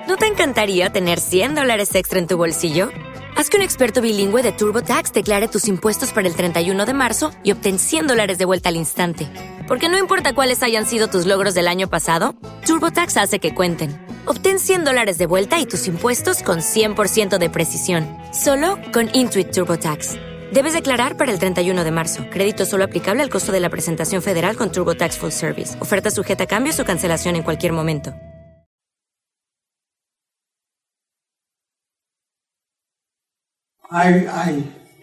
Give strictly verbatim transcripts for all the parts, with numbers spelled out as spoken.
¿No te encantaría tener cien dólares extra en tu bolsillo? Haz que un experto bilingüe de TurboTax declare tus impuestos para el treinta y uno de marzo y obtén cien dólares de vuelta al instante. Porque no importa cuáles hayan sido tus logros del año pasado, TurboTax hace que cuenten. Obtén cien dólares de vuelta y tus impuestos con cien por ciento de precisión. Solo con Intuit TurboTax. Debes declarar para el treinta y uno de marzo. Crédito solo aplicable al costo de la presentación federal con TurboTax Full Service. Oferta sujeta a cambios o cancelación en cualquier momento. I, I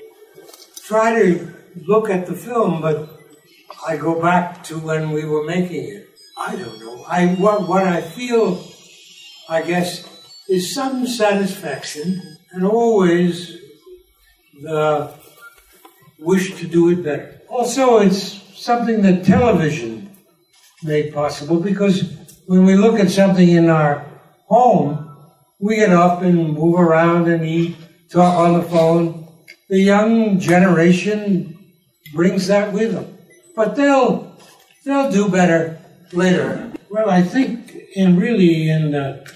try to look at the film, but I go back to when we were making it. I don't know. I what, what I feel, I guess, is some satisfaction and always the wish to do it better. Also, it's something that television made possible, because when we look at something in our home, we get up and move around and eat, talk on the phone. The young generation brings that with them. But they'll they'll do better later. Well, I think in really in the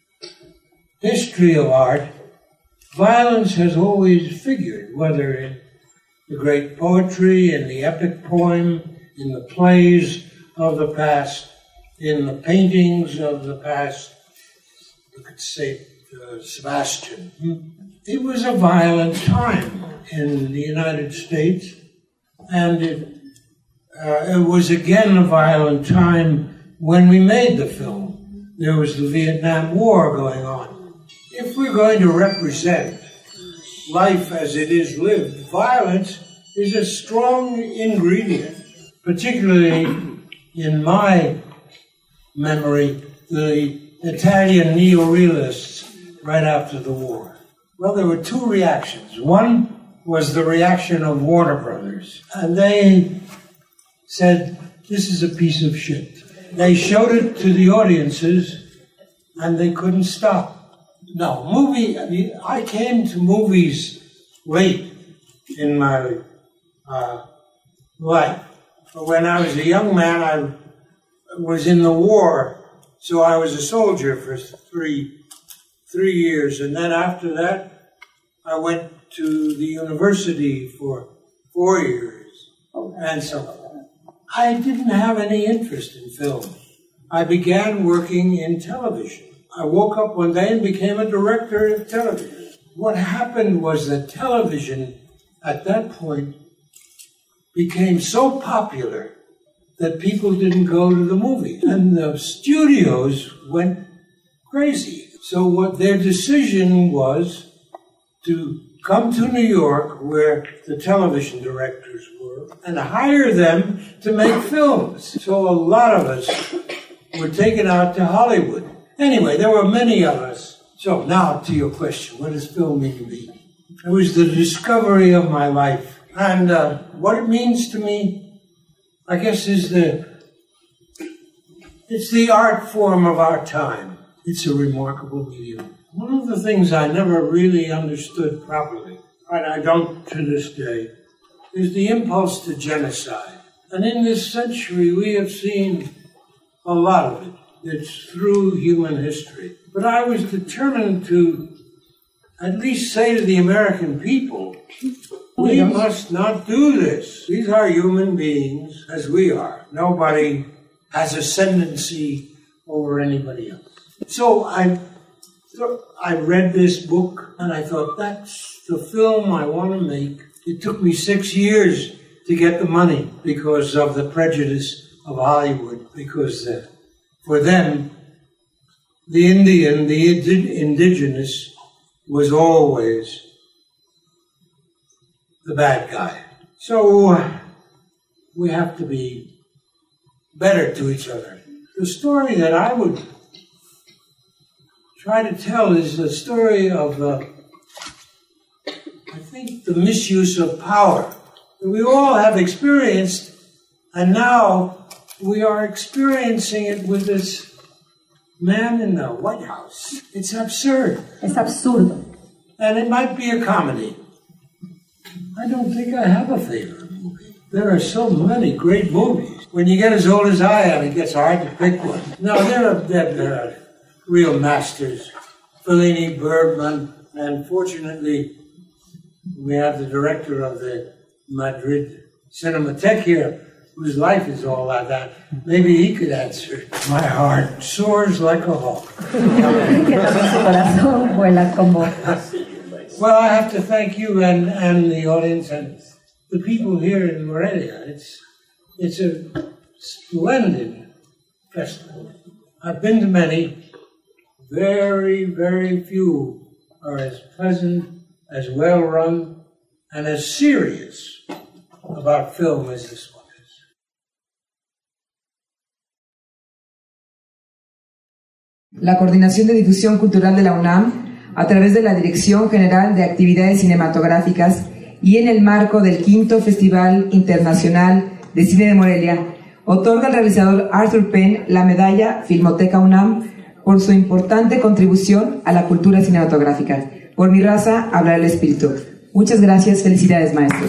history of art, violence has always figured, whether in the great poetry, in the epic poem, in the plays of the past, in the paintings of the past. You could say uh, Sebastian. It was a violent time in the United States, and it, uh, it was again a violent time when we made the film. There was the Vietnam War going on. If we're going to represent life as it is lived, violence is a strong ingredient, particularly in my memory, the Italian neorealists right after the war. Well, there were two reactions. One was the reaction of Warner Brothers, and they said, this is a piece of shit. They showed it to the audiences, and they couldn't stop. No, movie, I mean, I came to movies late in my uh, life. But when I was a young man, I was in the war, so I was a soldier for three three years, and then after that, I went to the university for four years, and so I didn't have any interest in film. I began working in television. I woke up one day and became a director of television. What happened was that television, at that point, became so popular that people didn't go to the movies, and the studios went crazy. So what their decision was to come to New York, where the television directors were, and hire them to make films. So a lot of us were taken out to Hollywood. Anyway, there were many of us. So now to your question, what does film mean to me? It was the discovery of my life. And uh, what it means to me, I guess, is the, it's the art form of our time. It's a remarkable medium. One of the things I never really understood properly, and I don't to this day, is the impulse to genocide. And in this century, we have seen a lot of it. It's through human history. But I was determined to at least say to the American people, we must not do this. These are human beings, as we are. Nobody has ascendancy over anybody else. So I, I read this book, and I thought, that's the film I want to make. It took me six years to get the money because of the prejudice of Hollywood, because uh, for them, the Indian, the indigenous, was always the bad guy. So uh, we have to be better to each other. The story that I would try to tell is the story of, uh, I think, the misuse of power that we all have experienced, and now we are experiencing it with this man in the White House. It's absurd. Es absurdo. And it might be a comedy. I don't think I have a favorite movie. There are so many great movies. When you get as old as I am, it gets hard to pick one. No, there are, there are real masters Fellini, Bergman, and fortunately we have the director of the Madrid Cinematheque here, whose life is all like that. Maybe he could answer. My heart soars like a hawk. Well, I have to thank you and, and the audience and the people here in Morelia. It's, it's a splendid festival. I've been to many. Very, very few are as pleasant, as well-run, and as serious about film as this one is. La Coordinación de Difusión Cultural de la UNAM, a través de la Dirección General de Actividades Cinematográficas y en el marco del quinto Festival Internacional de Cine de Morelia, otorga al realizador Arthur Penn la medalla Filmoteca UNAM por su importante contribución a la cultura cinematográfica. Por mi raza, hablará el espíritu. Muchas gracias, felicidades, maestro.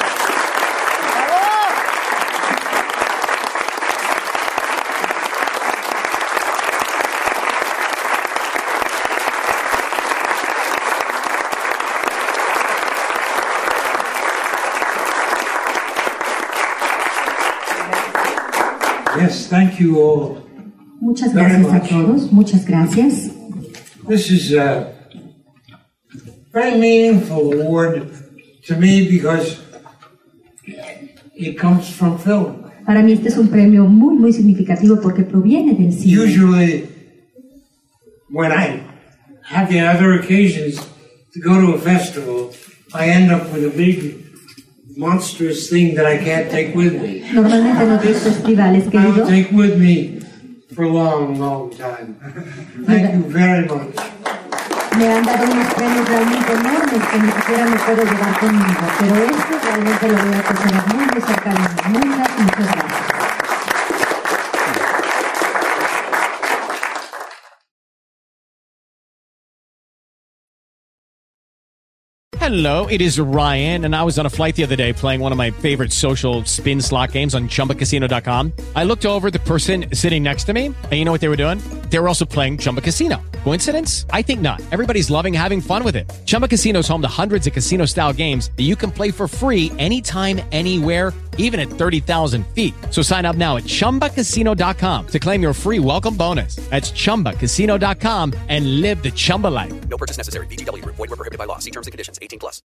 Yes, thank you all. Muchas gracias a todos. Muchas gracias. This is a very meaningful award to me because it comes from film. Para mí este es un premio muy muy significativo porque proviene del cine. Usually, when I have the other occasions to go to a festival, I end up with a big monstrous thing that I can't take with me. Normalmente en otros festivales, querido, I'll take with me for a long, long time. Thank you very much. me han dado unos premios realmente enormes que ni siquiera me puedo llevar conmigo, pero este realmente lo voy a considerar muy de cerca de mí. Muchas, muchas gracias. Hello, it is Ryan, and I was on a flight the other day playing one of my favorite social spin slot games on Chumba Casino dot com. I looked over at the person sitting next to me, and you know what they were doing? They were also playing Chumba Casino. Coincidence? I think not. Everybody's loving having fun with it. Chumba Casino is home to hundreds of casino-style games that you can play for free anytime, anywhere, even at thirty thousand feet. So sign up now at Chumba Casino dot com to claim your free welcome bonus. That's Chumba Casino dot com and live the Chumba life. No purchase necessary. V G W. Void where prohibited by law. See terms and conditions. eighteen plus.